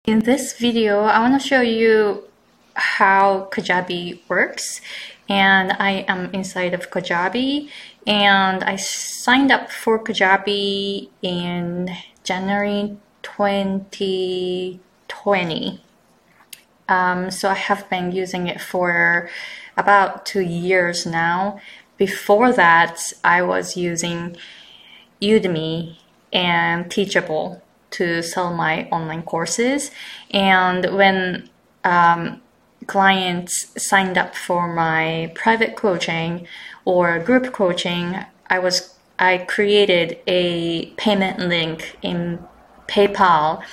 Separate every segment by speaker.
Speaker 1: In this video, I want to show you how Kajabi works, and I am inside of Kajabi, and I signed up for Kajabi in January 2020. So I have been using it for about 2 years now. Before that, I was using Udemy and Teachable to sell my online courses. And when clients signed up for my private coaching or group coaching, I created a payment link in PayPal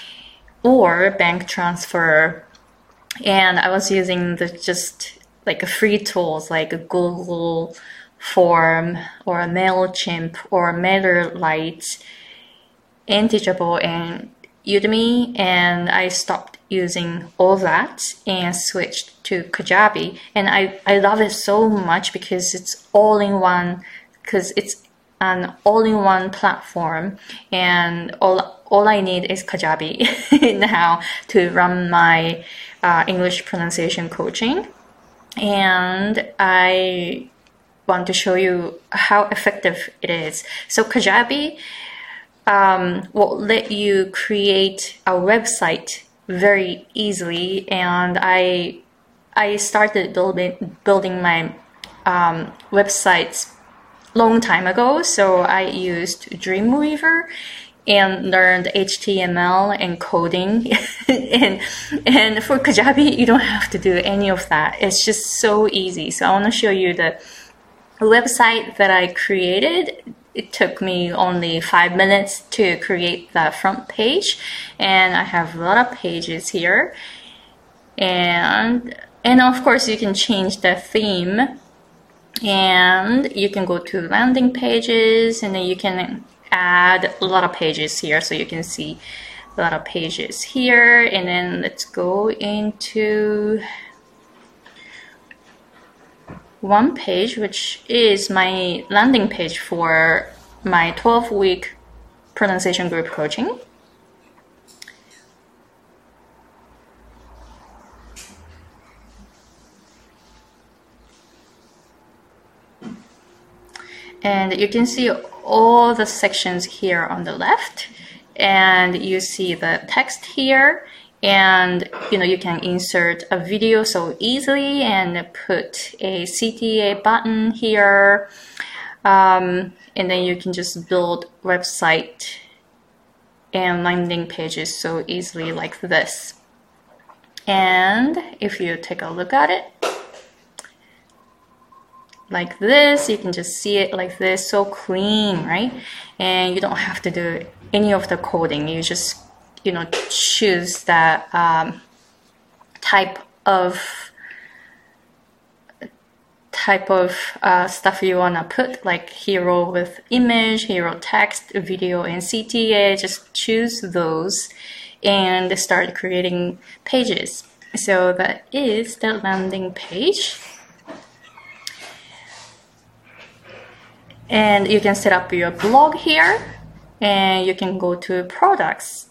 Speaker 1: or bank transfer, and I was using just like free tools like Google Form or MailChimp or MailerLite and Teachable and Udemy, and I stopped using all that and switched to Kajabi. And I love it so much because it's all-in-one, because it's an all-in-one platform, and all I need is Kajabi now to run my English pronunciation coaching. And I want to show you how effective it is. So Kajabi will let you create a website very easily, and I started building my websites long time ago. So I used Dreamweaver and learned HTML and coding and for Kajabi you don't have to do any of that. It's just so easy. So I want to show you the website that I created. It took me only 5 minutes to create the front page, and I have a lot of pages here, and of course you can change the theme, and you can go to landing pages, and then you can add a lot of pages here, so you can see a lot of pages here. And then let's go into one page, which is my landing page for my 12-week pronunciation group coaching. And you can see all the sections here on the left, and you see the text here, and you can insert a video so easily and put a CTA button here, and then you can just build website and landing pages so easily like this. And if you take a look at it like this, you can just see it like this, so clean, right? And you don't have to do any of the coding. You just choose that type of stuff you want to put, like hero with image, hero text, video, and CTA. Just choose those and start creating pages. So that is the landing page. And you can set up your blog here, and you can go to products.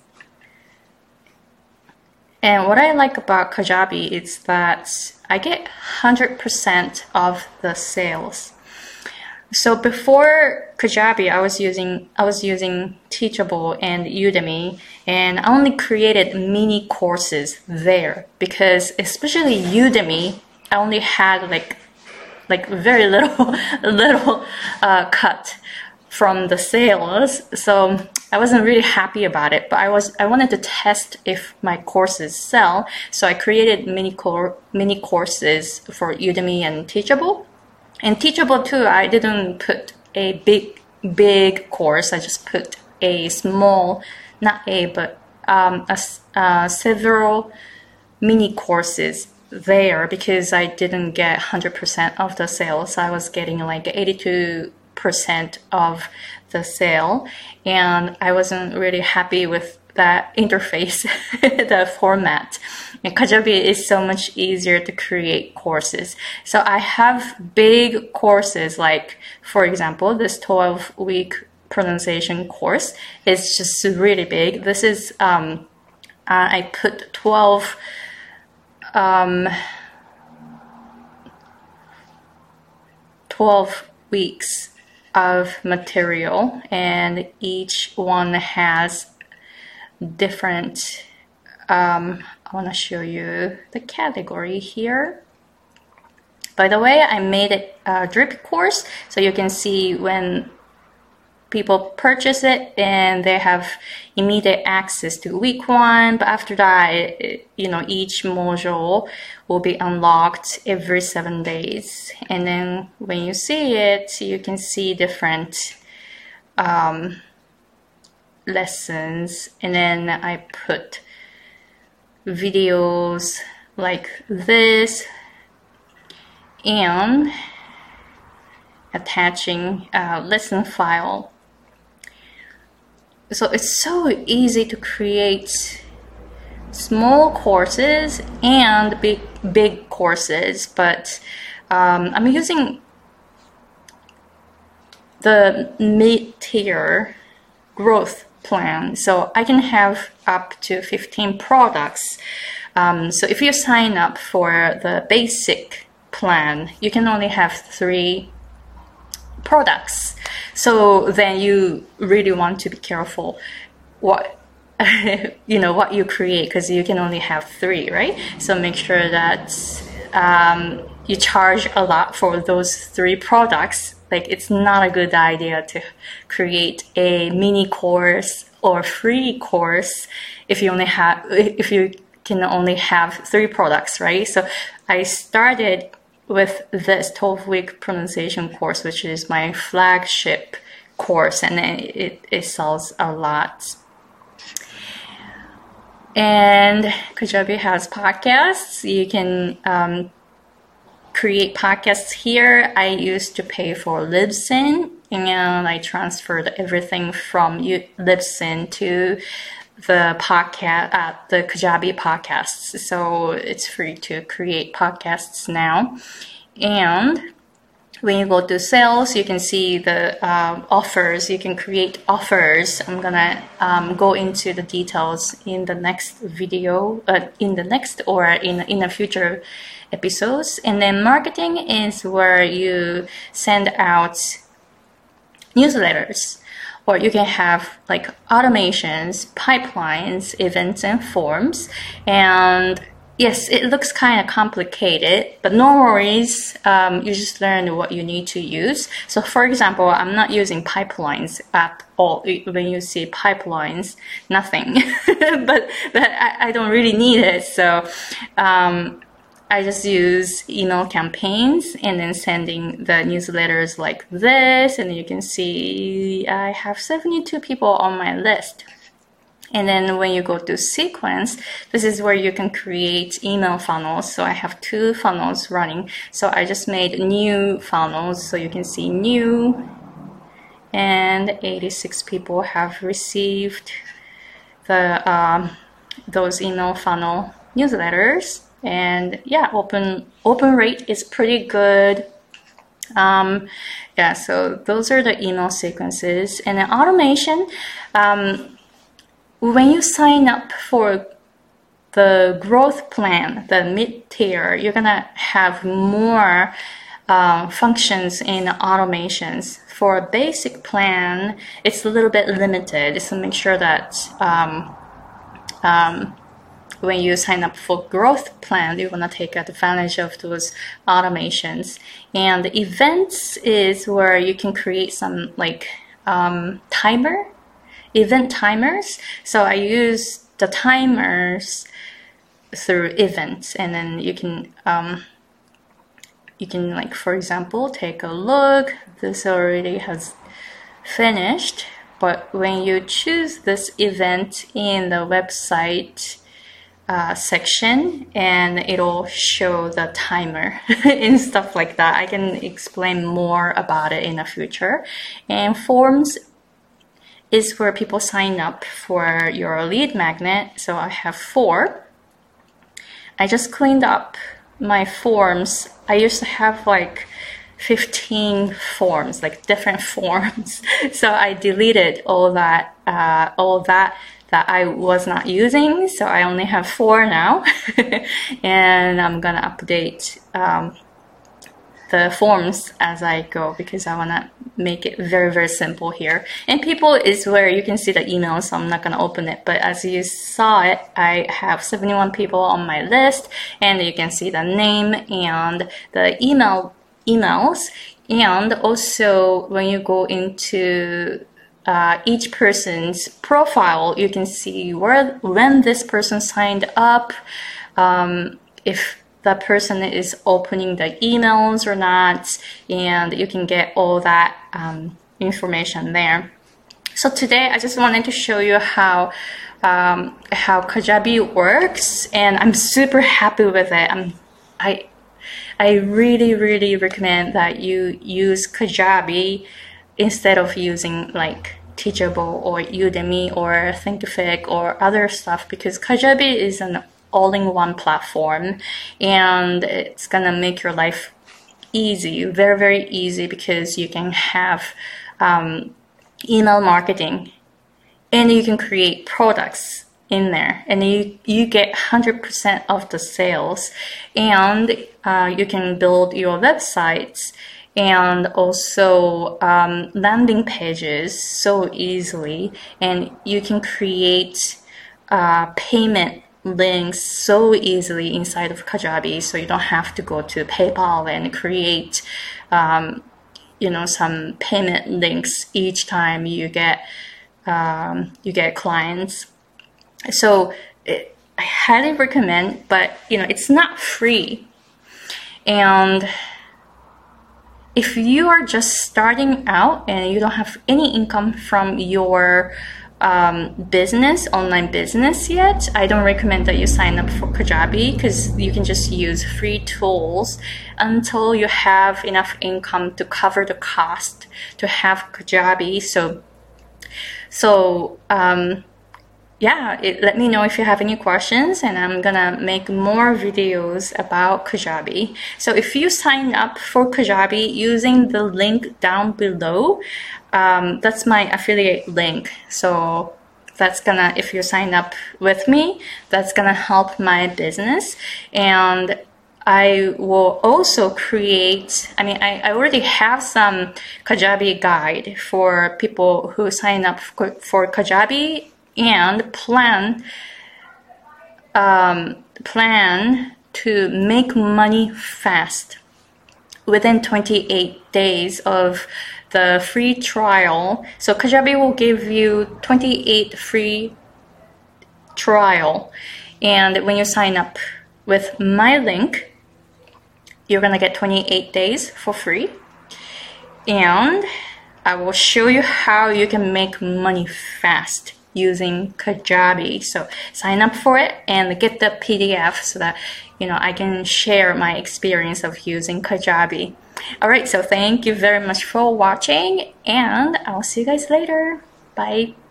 Speaker 1: And what I like about Kajabi is that I get 100% of the sales. So before Kajabi, I was using Teachable and Udemy, and I only created mini courses there because, especially Udemy, I only had like very little cut from the sales, so I wasn't really happy about it. But I wanted to test if my courses sell, so I created mini courses for Udemy and Teachable. And Teachable too, I didn't put a big course. I just put a small, not a, but several mini courses there because I didn't get 100% of the sales. I was getting like 82% of the sale, and I wasn't really happy with that interface, the format. And Kajabi is so much easier to create courses. So I have big courses, like for example this 12-week pronunciation course is just really big. This is I put 12 weeks of material, and each one has different I want to show you the category here. By the way, I made it a drip course, so you can see when people purchase it and they have immediate access to week 1, but after that, each module will be unlocked every 7 days. And then when you see it, you can see different lessons, and then I put videos like this and attaching a lesson file. So it's so easy to create small courses and big courses, but I'm using the mid-tier growth plan, so I can have up to 15 products. So if you sign up for the basic plan, you can only have 3 products. So then you really want to be careful what what you create, because you can only have 3, right? So make sure that you charge a lot for those 3 products. Like, it's not a good idea to create a mini course or free course if you can only have 3 products, right? So I started with this 12-week pronunciation course, which is my flagship course, and it sells a lot. And Kajabi has podcasts. You can create podcasts here. I used to pay for Libsyn, and I transferred everything from Libsyn to the podcast, the Kajabi podcasts. So it's free to create podcasts now. And when you go to sales, you can see the offers. You can create offers. I'm gonna go into the details in the next video, in a future episodes. And then marketing is where you send out newsletters, or you can have like automations, pipelines, events, and forms. And yes, it looks kind of complicated, but no worries. You just learn what you need to use. So for example, I'm not using pipelines at all. When you see pipelines, nothing, but I don't really need it. So I just use email campaigns and then sending the newsletters like this. And you can see I have 72 people on my list. And then when you go to sequence, this is where you can create email funnels. So I have 2 funnels running. So I just made new funnels. So you can see new, and 86 people have received the those email funnel newsletters. And yeah, open rate is pretty good. Yeah, so those are the email sequences. And then automation, when you sign up for the growth plan, the mid-tier, you're gonna have more functions in automations. For a basic plan, it's a little bit limited, so make sure that when you sign up for growth plan, you want to take advantage of those automations. And events is where you can create some like event timers. So I use the timers through events, and then you can like, for example, take a look. This already has finished, but when you choose this event in the website section, and it'll show the timer and stuff like that. I can explain more about it in the future. And forms is where people sign up for your lead magnet. So I have 4. I just cleaned up my forms. I used to have like 15 forms, like different forms. So I deleted all that that I was not using. So I only have 4 now. And I'm gonna update the forms as I go, because I want to make it very, very simple here. And people is where you can see the email, so I'm not going to open it. But as you saw it, I have 71 people on my list, and you can see the name and the emails. And also when you go into each person's profile, you can see when this person signed up, if the person is opening the emails or not, and you can get all that information there. So today I just wanted to show you how Kajabi works, and I'm super happy with it. I really, really recommend that you use Kajabi instead of using like Teachable or Udemy or Thinkific or other stuff, because Kajabi is an all-in-one platform, and it's gonna make your life easy, very, very easy, because you can have email marketing, and you can create products in there, and you get 100% of the sales, and you can build your websites and also landing pages so easily, and you can create payment links so easily inside of Kajabi, so you don't have to go to PayPal and create some payment links each time you get clients. So I highly recommend, but it's not free. And if you are just starting out and you don't have any income from your online business yet, I don't recommend that you sign up for Kajabi, because you can just use free tools until you have enough income to cover the cost to have Kajabi. Let me know if you have any questions, and I'm gonna make more videos about Kajabi. So if you sign up for Kajabi using the link down below, that's my affiliate link. So that's gonna, if you sign up with me, that's gonna help my business. And I will also create, I already have some Kajabi guide for people who sign up for Kajabi and plan to make money fast within 28 days of the free trial. So Kajabi will give you 28 free trial, and when you sign up with my link, you're gonna get 28 days for free, and I will show you how you can make money fast using Kajabi. So sign up for it and get the PDF so that I can share my experience of using Kajabi. Alright, so thank you very much for watching, and I'll see you guys later. Bye.